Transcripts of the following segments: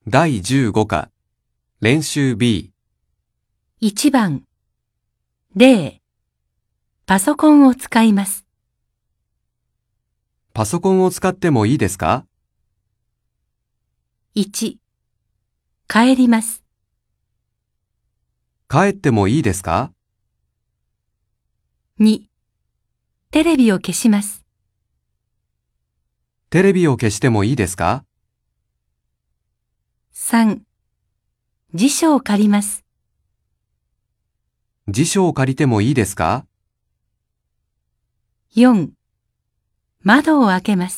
第15課、練習 B。 1番、0、パソコンを使います。 パソコンを使ってもいいですか？ 1、帰ります。 帰ってもいいですか？ 2、テレビを消します。 テレビを消してもいいですか？ 3、辞書を借ります。 辞書を借りてもいいですか？ 4、窓を開けます。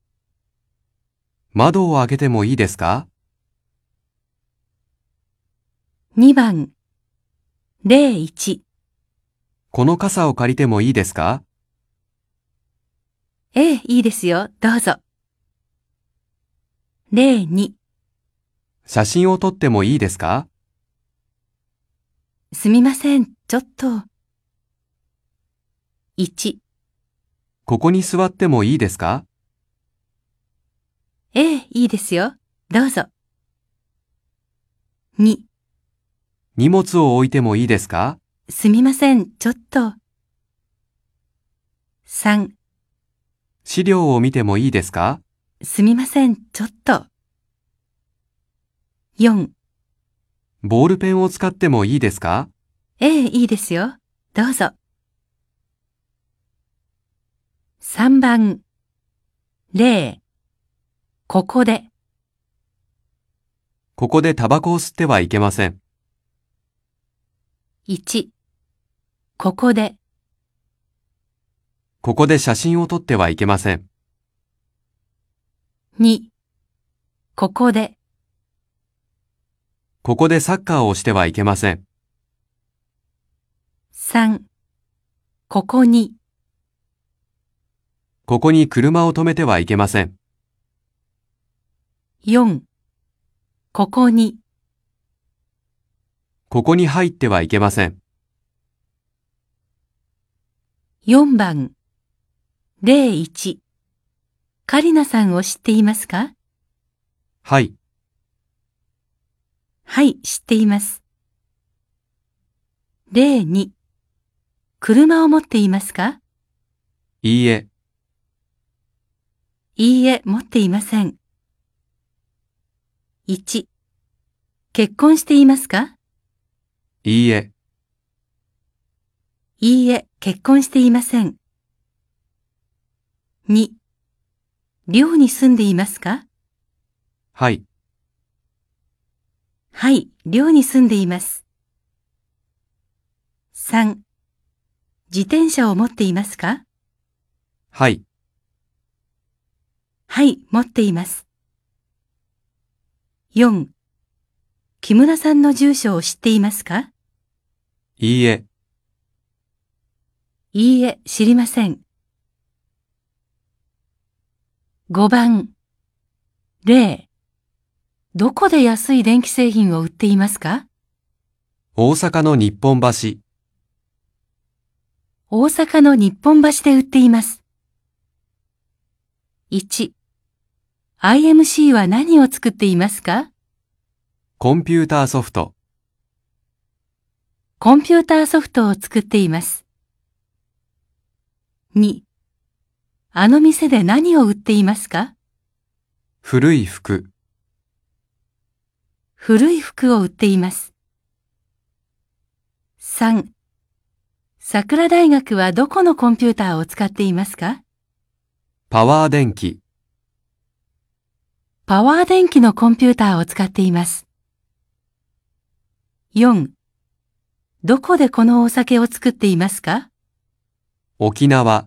窓を開けてもいいですか？ 2番、01、 この傘を借りてもいいですか？ ええ、いいですよ、どうぞ。02、 写真を撮ってもいいですか？ すみません、ちょっと。1、 ここに座ってもいいですか？ ええ、いいですよ、どうぞ。2、 荷物を置いてもいいですか？ すみません、ちょっと。3、 資料を見てもいいですか？ すみません、ちょっと。4、 ボールペンを使ってもいいですか？ ええ、いいですよ、どうぞ。3番、0、ここで。 ここでタバコを吸ってはいけません。 1、ここで。 ここで写真を撮ってはいけません。 2、ここで。 ここでサッカーをしてはいけません。 3、ここに。 ここに車を止めてはいけません。 4、ここに。 ここに入ってはいけません。 4番、01、カリナさんを知っていますか？ はい。 はい、知っています。02、車を持っていますか？ いいえ。 いいえ、持っていません。1、結婚していますか？ いいえ。 いいえ、結婚していません。2、寮に住んでいますか？ はい。 はい、寮に住んでいます。3、自転車を持っていますか？ はい。 はい、持っています。4、木村さんの住所を知っていますか？ いいえ。 いいえ、知りません。5番、0、どこで安い電気製品を売っていますか？ 大阪の日本橋。 大阪の日本橋で売っています。1、IMC は何を作っていますか？ コンピューターソフト。 コンピューターソフトを作っています。2、あの店で何を売っていますか？ 古い服。 古い服を売っています。3、桜大学はどこのコンピューターを使っていますか？ パワー電気。 パワー電気のコンピューターを使っています。4、どこでこのお酒を作っていますか？ 沖縄。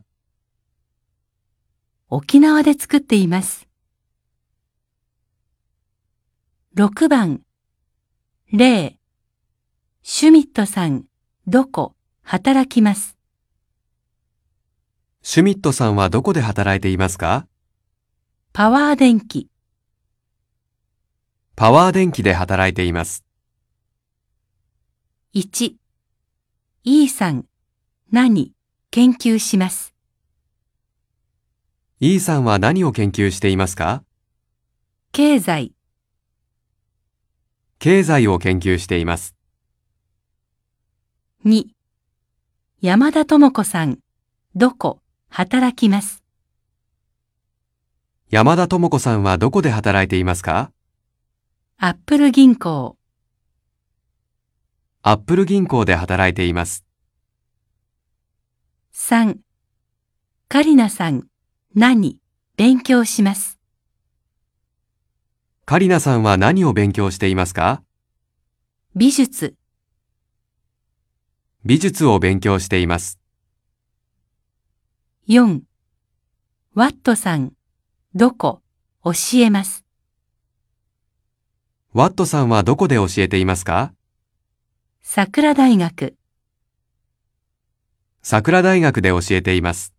沖縄で作っています。6番、0、シュミットさん、どこ、働きます。 シュミットさんはどこで働いていますか？ パワー電気。 パワー電気で働いています。 1、E さん、何、研究します。 E さんは何を研究していますか？ 経済。 経済を研究しています。 2、山田智子さん、どこ、働きます。 山田智子さんはどこで働いていますか？ アップル銀行。 アップル銀行で働いています。 3、カリナさん、何、勉強します。 カリナさんは何を勉強していますか？ 美術。 美術を勉強しています。 4、ワットさん、どこ、教えます。 ワットさんはどこで教えていますか？ 桜大学。 桜大学で教えています。